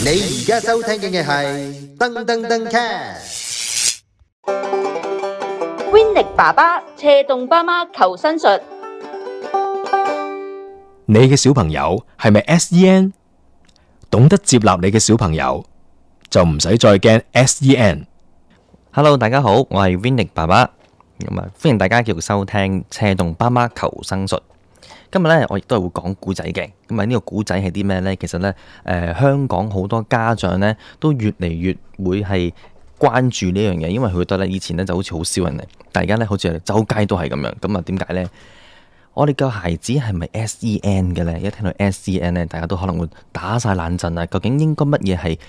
而家收聽嘅係噔噔噔 cast。 Winnie 爸爸斜動爸媽求生術。 你嘅小朋友係咪 SEN？ 懂得接納你嘅小朋友，就唔使再驚 SEN。Hello， 大家好，我係 Winnie 爸爸，歡迎大家繼續收聽斜動爸媽求生術。今日咧，我亦都係會講古仔嘅。咁呢個古仔係啲咩呢？其實呢，香港好多家長呢都越嚟越會係關注呢樣嘢，因為佢覺得咧以前呢就好似好少人嚟，但而家呢好似周街都係咁樣。咁啊，點解呢？我哋嘅孩子係咪 SEN 嘅呢？一聽到 SEN 呢，大家都可能會打晒冷震啊！究竟應該乜嘢係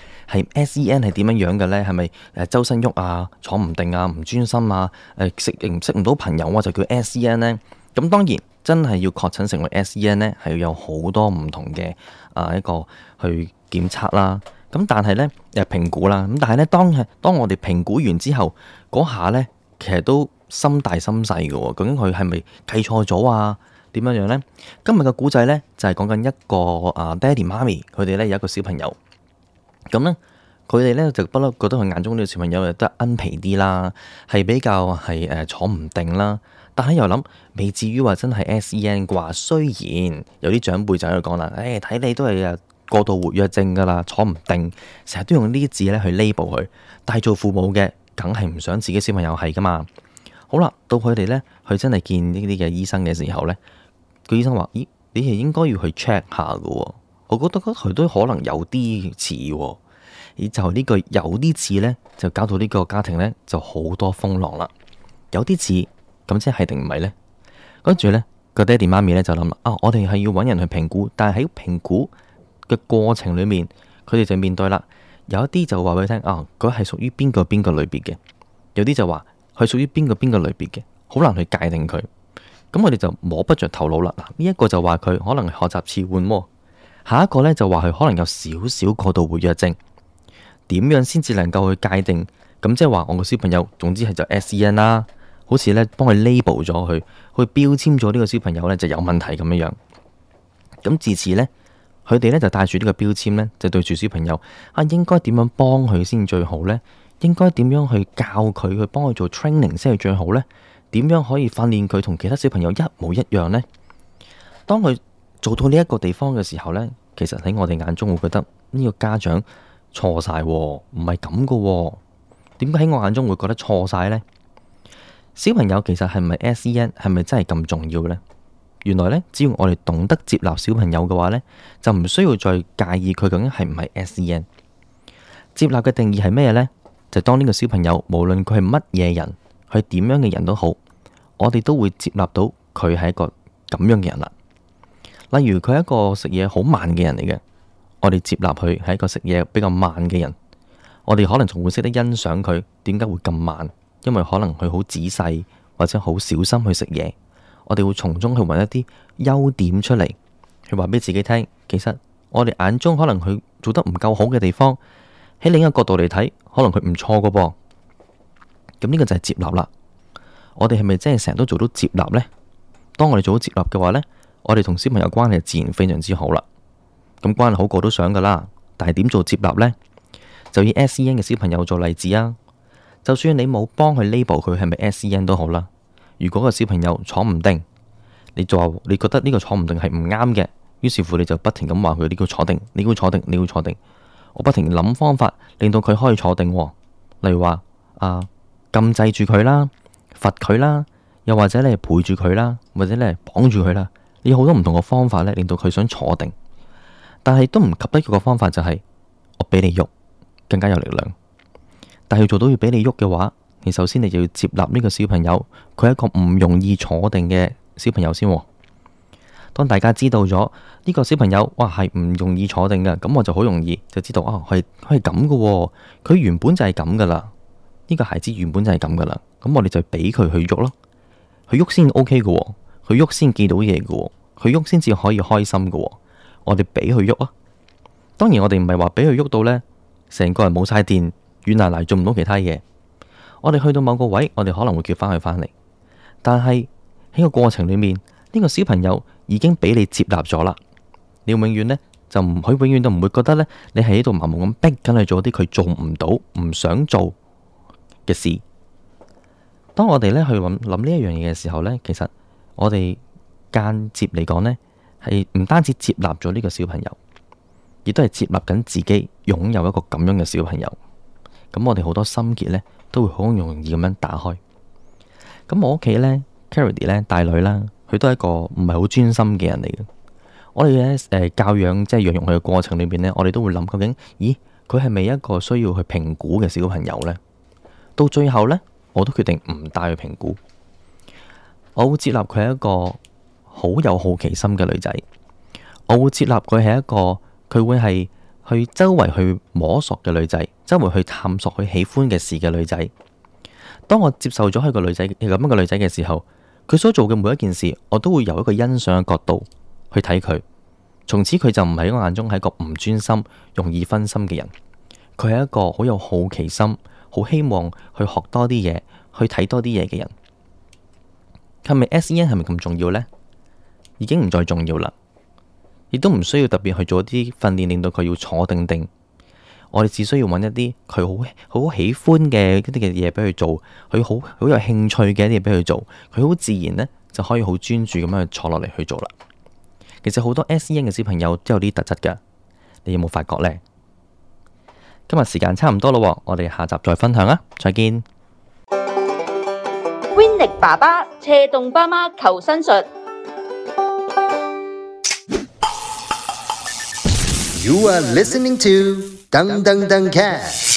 SEN 係點樣樣嘅呢？係咪周身喐啊、坐唔定啊、唔專心啊、識唔到朋友啊就叫 SEN 呢？咁當然真係要確診成為 SEN 呢，係要有好多唔同嘅一個去檢測啦。咁但係呢，評估啦。咁但係呢，當我哋評估完之後，嗰下呢，其實都心大心細嘅喎。究竟佢係咪計錯咗啊？點樣樣呢？今日嘅古仔呢，就係講緊一個爹哋媽咪，佢哋呢有一個小朋友。咁呢，佢哋呢就不嬲覺得佢眼中呢個小朋友又得奀皮啲啦，係比較係坐唔定啦。但係又諗未至於話真係 SEN 啩，雖然有啲長輩就喺度講啦，睇你都係過度活躍症噶啦，坐唔定，成日都用呢啲字咧去 label 佢。但係做父母嘅，梗係唔想自己小朋友係噶嘛。好啦，到佢哋咧去真係見呢啲嘅醫生嘅時候咧，個醫生話：咦，你係應該要去 check 下噶。我覺得佢都可能有啲似，而就呢個有啲似咧，就搞到呢個家庭咧就好多風浪啦。有啲似。咁即係定唔係呢？跟住呢個爹哋媽咪呢就諗啦，我哋係要揾人去評估，但係喺評估嘅過程裏面，佢哋就面對啦。有一啲就話俾佢聽，佢係屬於邊個類別嘅；有啲就話佢屬於邊個類別嘅，好難去界定佢。咁我哋就摸不着頭腦啦。嗱，呢一個就話佢可能係學習遲緩喎，下一個呢就話佢可能有少少過度活躍症。點樣先至能夠去界定？咁即係話我個小朋友，總之係就 SEN 啦。好似咧幫佢 label 咗佢，去標籤咗呢個小朋友咧就有問題咁樣樣。咁自此咧，佢哋咧就帶住呢個標籤咧，就對住小朋友應該點樣幫佢先最好咧？應該點樣去教佢去幫佢做 training 先係最好咧？點樣可以訓練佢同其他小朋友一模一樣咧？當佢做到呢一個地方嘅時候咧，其實喺我哋眼中會覺得呢個家長錯晒，唔係咁噶。點解喺我眼中會覺得錯晒咧？小朋友其實係咪 SEN 係咪真係咁重要呢？原來呢，只要我哋懂得接納小朋友嘅話呢，就唔需要再介意佢究竟係唔係 SEN。接納嘅定義係咩呢？就當呢個小朋友無論佢係乜嘢人，佢點樣嘅人都好，我哋都會接納到佢係一個咁樣嘅人啦。例如佢係一個食嘢好慢嘅人嚟嘅，我哋接納佢係一個食嘢比較慢嘅人，我哋可能仲會識得欣賞佢點解會咁慢。因為可能佢好仔細或者好小心去食嘢，我哋會從中去揾一啲優點出嚟，去話俾自己聽。其實我哋眼中可能佢做得唔夠好嘅地方，喺另一個角度嚟睇，可能佢唔錯㗎噃。咁呢個就係接納啦。我哋係咪真係成日都做到接納呢？當我哋做到接納嘅話呢，我哋同小朋友關係自然非常之好啦。咁關係好過都想噶啦，但係點做接納呢？就以 SEN 嘅小朋友做例子啊。就算你冇幫佢 label 佢係咪 SEN 都好啦，如果個小朋友坐唔定，你就話你覺得呢個坐唔定係唔啱嘅，於是乎你就不停咁話佢，你要坐定，你要坐定，你要坐定。我不停諗方法令到佢可以坐定，例如話禁制住佢啦，罰佢啦，又或者你係陪住佢啦，或者你係綁住佢啦，你有好多唔同嘅方法咧，令到佢想坐定，但係都唔及得一個方法，就係我俾你喐，更加有力量。但係要做到要俾你喐嘅話，你首先你就要接納呢個小朋友，佢係一個唔容易坐定嘅小朋友先。當大家知道咗呢個小朋友係唔容易坐定嘅，咁我就好容易就知道佢係咁嘅，佢原本就係咁噶啦。呢個孩子原本就係咁噶啦，咁我哋就俾佢去喐咯，佢喐先 OK 嘅，佢喐先記到嘢嘅，佢喐先至可以開心嘅。我哋俾佢喐啊。當然我哋唔係話俾佢喐到呢，成個人冇晒電。軟爛爛做唔到其他嘢，我哋去到某個位，我哋可能會叫翻佢返嚟。但係喺個過程裏面，呢個小朋友已經俾你接納咗啦。你要永遠呢就佢永遠都唔會覺得咧，你係喺度盲目咁逼緊去做啲佢做唔到、唔想做嘅事。當我哋咧去諗呢一樣嘢嘅時候咧，其實我哋間接嚟講咧，係唔單止接納咗呢個小朋友，亦都係接納緊自己擁有一個咁樣嘅小朋友。咁我哋好多心結咧，都會好容易咁樣打開。咁我屋企咧 Caridy 咧大女啦，佢都係一個唔係好專心嘅人嚟嘅。我哋咧教養即係養育佢嘅過程裏邊咧，我哋都會諗究竟，咦，佢係咪一個需要去評估嘅小朋友咧？到最後咧，我都決定唔帶佢評估。我會接納佢係一個好有好奇心嘅女仔，我會接納佢係一個佢會係去周圍去摸索嘅女仔，周圍去探索佢喜歡嘅事嘅女仔。當我接受咗佢個女仔咁樣嘅女仔嘅時候，佢所做嘅每一件事，我都會由一個欣賞嘅角度去睇佢。從此佢就唔係喺我眼中係一個唔專心、容易分心嘅人。佢係一個好有好奇心、好希望去學多啲嘢、去睇多啲嘢嘅人。係咪 SEN 係咪咁重要呢？已經唔再重要啦，亦都唔需要特別去做一啲訓練，令到佢要坐定定。我哋只需要揾一啲佢好喜歡嘅一啲嘅嘢俾佢做，佢好有興趣嘅一啲嘢俾佢做，佢好自然呢就可以好專注咁樣去坐落嚟去做啦。其實好多 SEN 嘅小朋友都有啲特質噶，你有冇發覺呢？今日時間差唔多咯，我哋下集再分享啊！再見。 Winnie 爸爸斜動爸媽求生術。 You are listening to Dang Dang Dang Cat。